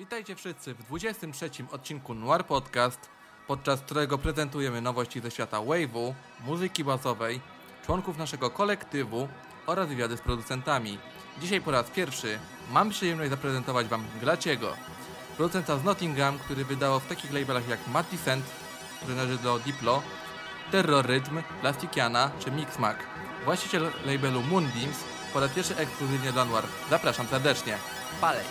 Witajcie wszyscy w 23. odcinku Noir Podcast, podczas którego prezentujemy nowości ze świata wave'u, muzyki basowej, członków naszego kolektywu oraz wywiady z producentami. Dzisiaj po raz pierwszy mam przyjemność zaprezentować Wam Glaciego, producenta z Nottingham, który wydawał w takich labelach jak Mad Descent, który należy do Diplo, Terror Rhythm, Plastikiana czy Mixmag. Właściciel labelu Moonbeams po raz pierwszy ekskluzywnie dla Noir. Zapraszam serdecznie. Palej!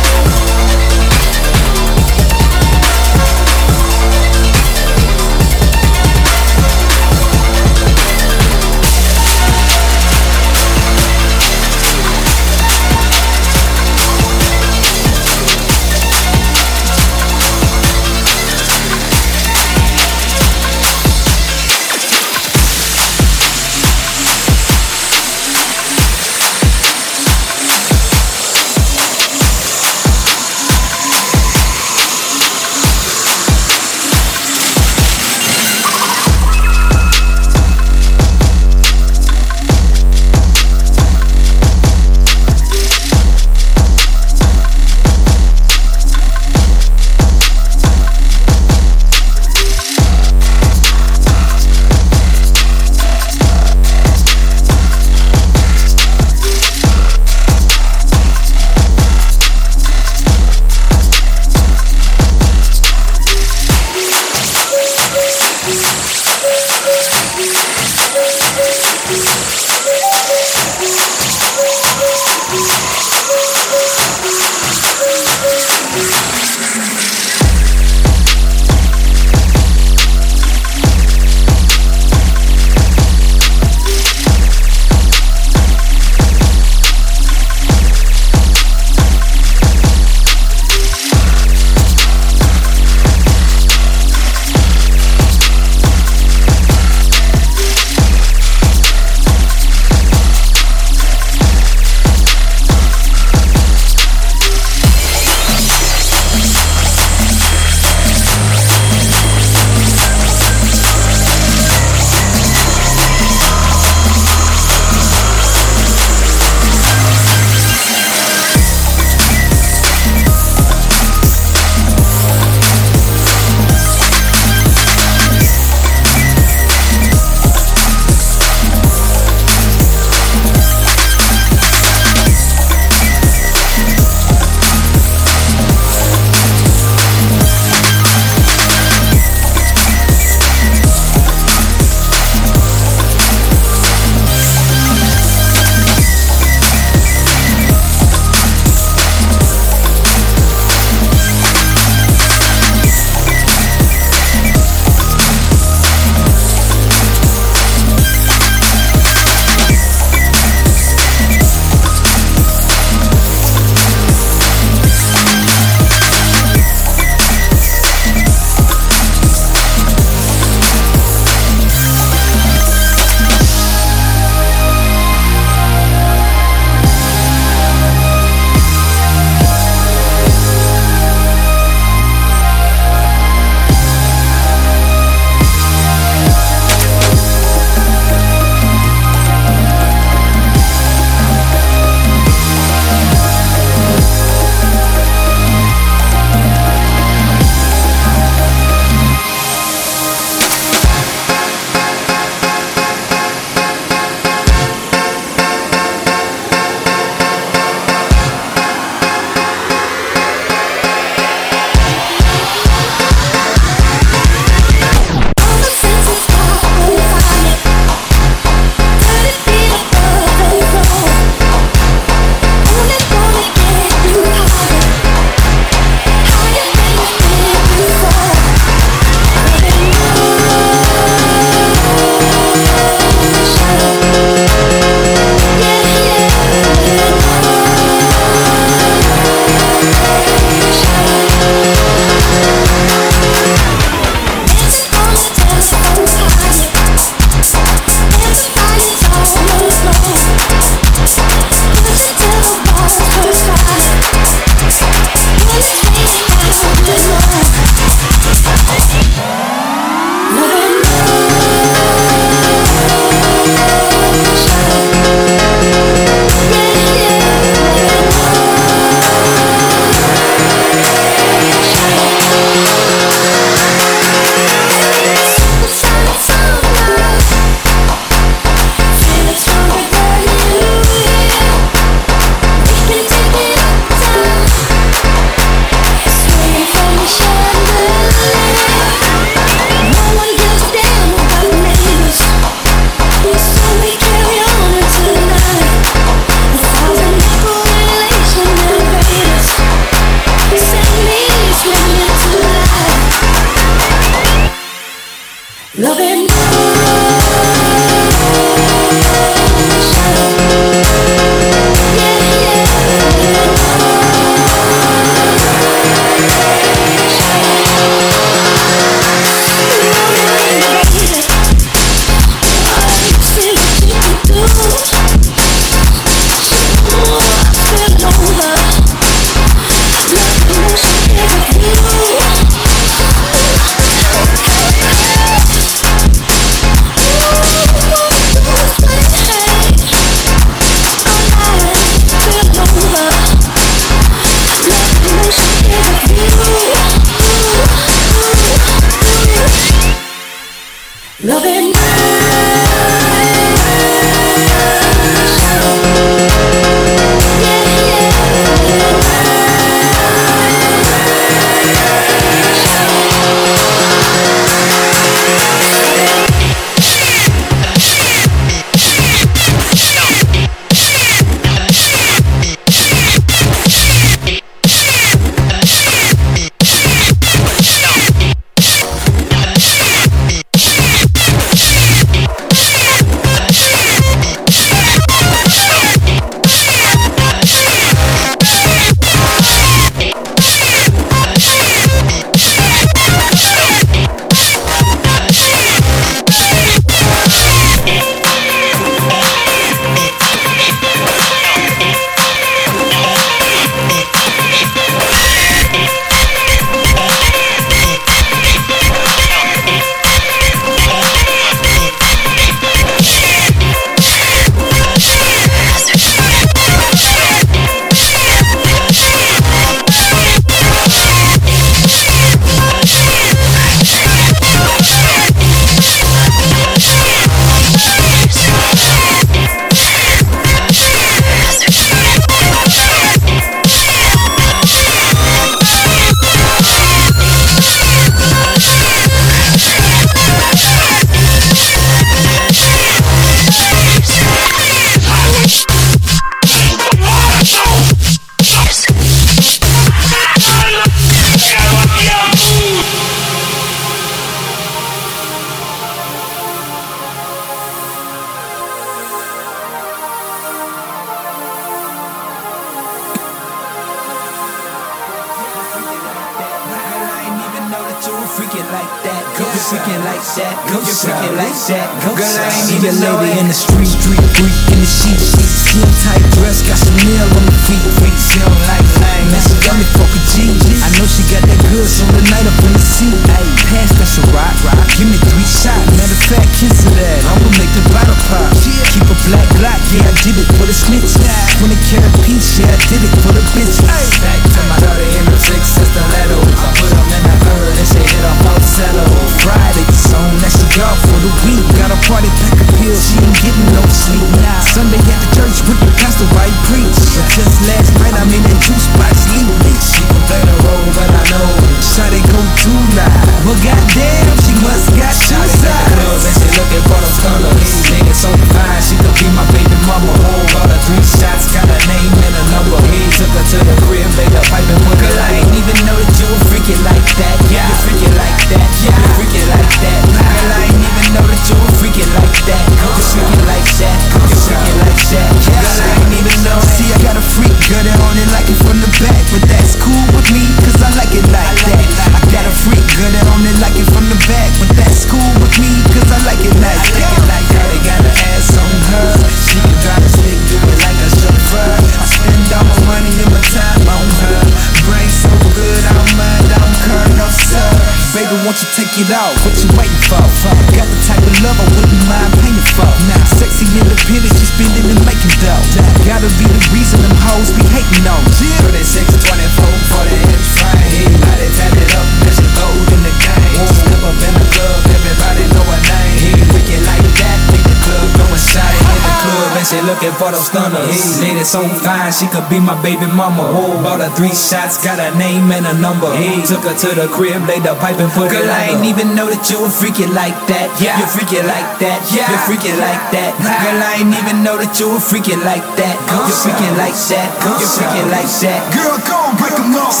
freaking like that, girl, you're freaking like that. Girl, I ain't even lady in the street, freak in the sheets. Skin tight dress, got Chanel on the feet. She don't like lame, man, she got me fucking G. I know she got that good, so the night up in the seat. Ayy, pass that Ciroc, give me 3 shots. Matter of fact, kiss of that, I'ma make the bottle pop. Keep a black Glock, yeah, I did it for the snitch. 20 karat piece, yeah, I did it for the bitch. Back to my daughter in the 6 stiletto. I put them in the hood and she hit up on cello. Friday, song that she got for the week. Got a party pack of pills, she ain't getting no sleep. Sunday at the church with the pastor, right preach. But just last night I'm in that juice box sleep. She can play the role, but I know shot it go too loud. Well, goddamn, she must got two sides. And she looking for them colors. Nigga so fine, she could be my baby mama. Hold her 3 shots, got a name and a number. He took her to the crib, laid the pipe and put her. Girl, I ain't even know that you were freaking like that. Yeah, you freaking like that. Yeah, you freaking like that. Girl, I ain't even know that you were freaking like that. You freaking like that. You freaking like that. Girl, I ain't even know. See, I got a freak girl that only like it from the back, but that's cool with me, cause I like it like that. I got a freak girl that only like it from the back, but that's cool with me, cause I like it like that. They got an ass on her, she can drive a stick, do it like a chauffeur. I spend all my money and my time on her. Brain so good, I don't mind, I don't care, no sir. Baby, won't you take it off? What you waiting for? Got the type of love I wouldn't mind paying for. Now, sexy independent, she spending and making dough. Gotta be the reason them hoes be hating on. 36, 24, 40-inch frame. Body tatted up, there's a gold in the game. Step up in the club, everybody know her name. He wicked like that, make the club go inside. In the club and she looking for those stunners. Lady so fine, she could be my baby mama. Bought her 3 shots, got her name and a number. He took her to the crib, laid the pipe and put her. Girl, I ain't even know that you were freaking like that. Yeah, you're freaking like that. Yeah, you're freaking like that. Girl, I ain't even know that you were freaking like that. You're freaking like that. You're freaking like that. Girl, go and break them off.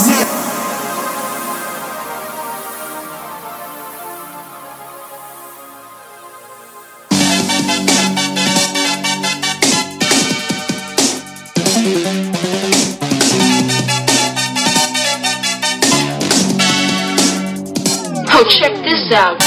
Yo, check this out.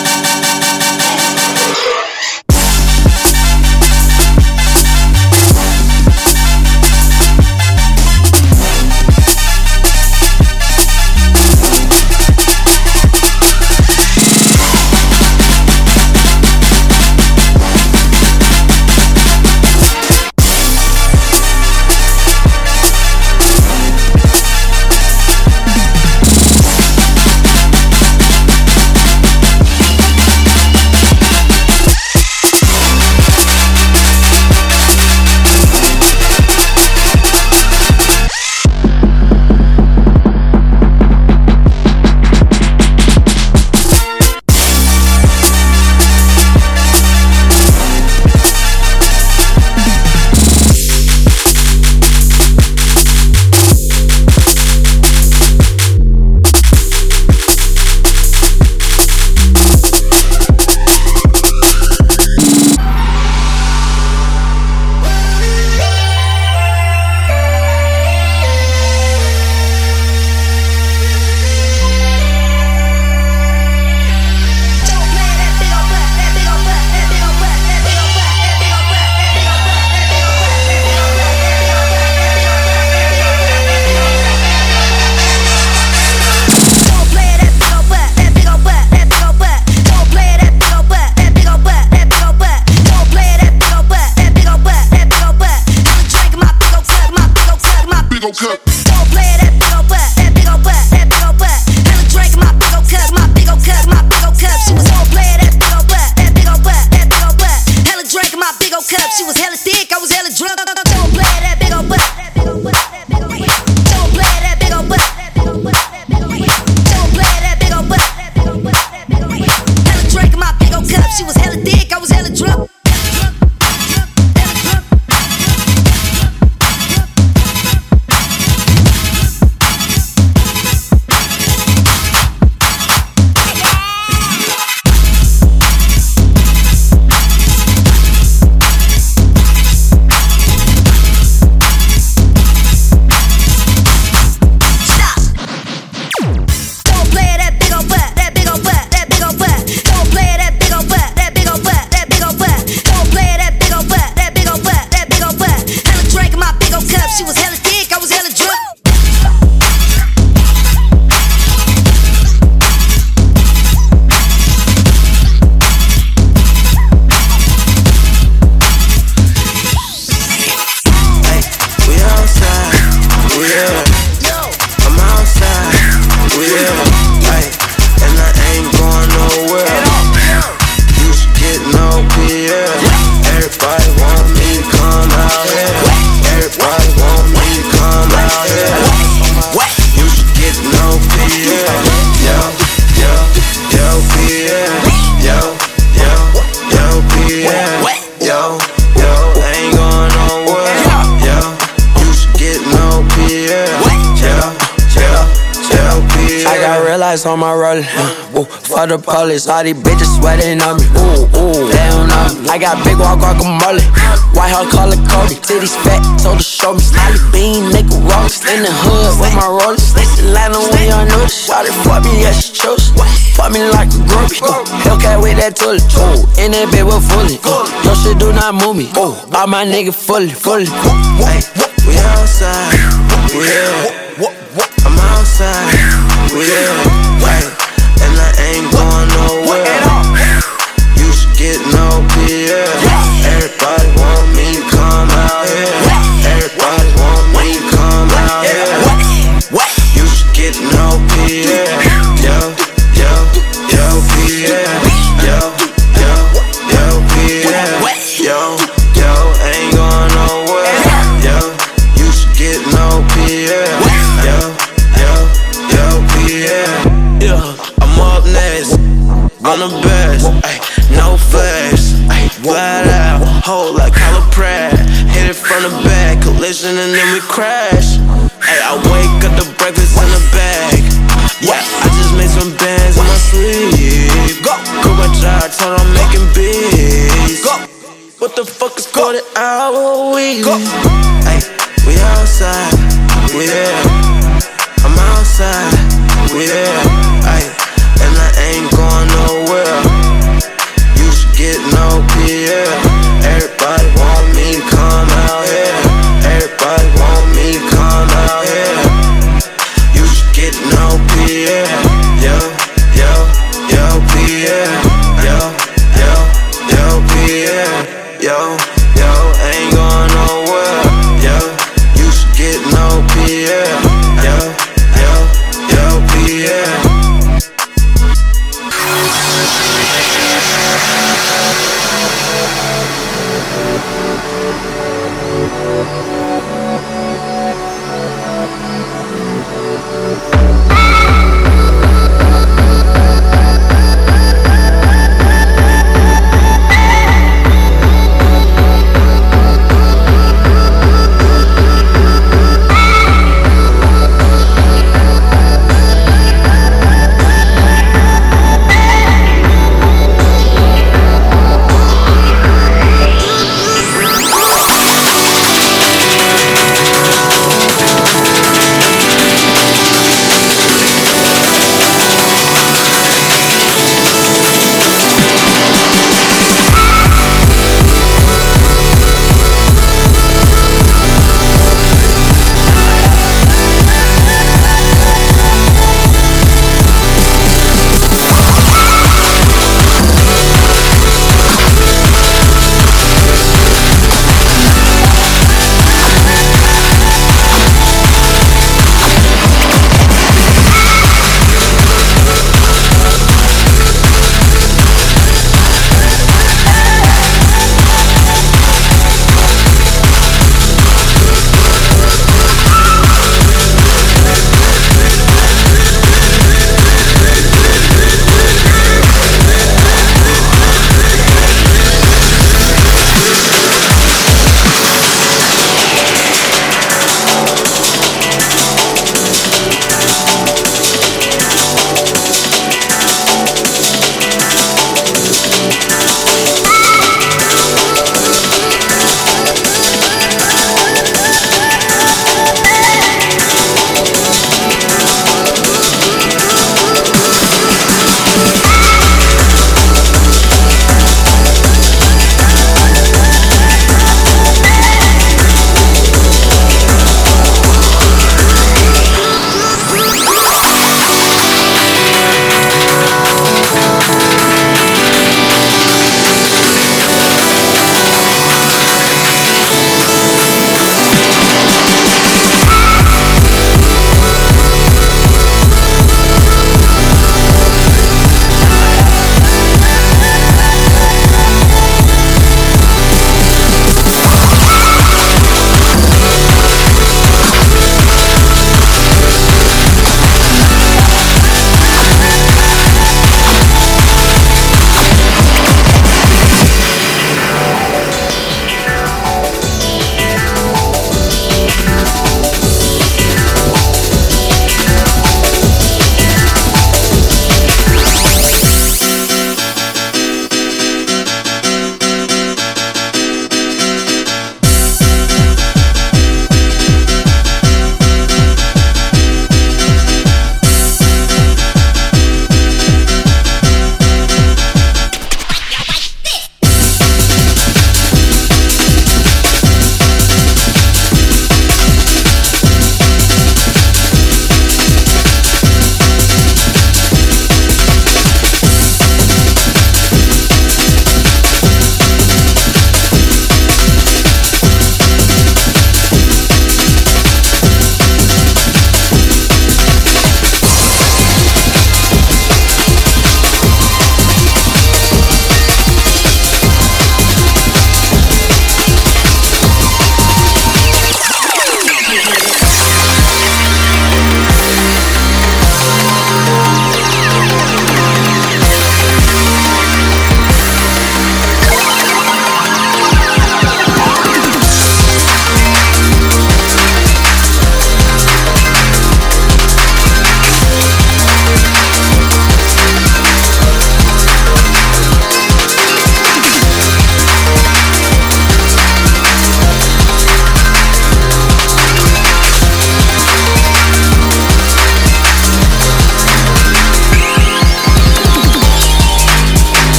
On my roller, for the police, all these bitches sweating on me. They don't know me. I got big walk guacamole, white heart color Cody, titties fat, told her show me. Smiley bean, nigga rollers in the hood with my rollers. Atlanta, we on notice. Shawty fuck me, yeah she chose. Fuck me like a groupie. Hellcat with that tully. In that bed with fully. Your shit do not move me. All my nigga fully. Hey, we outside. We here. I'm outside. We here. And I ain't going nowhere. You should get no PR. Everybody want me to come out here. Everybody want me to come out here. You should get no PR. Yo, PR. Yo, PR. Yo, ain't going nowhere. Yo, you should get no PR. Yo, PR. Yeah, I'm up next, I'm the best, ay, no flex, ay, flat out, hold like Kyla Pratt, hit it from the back, collision and then we crash, ay, I wake up the breakfast in the bag, yeah, I just made some bands in my sleep, go, quit my job, told I'm making beats, go, what the fuck is called an hour a week, go, ay, we outside, we there, I'm outside, we there.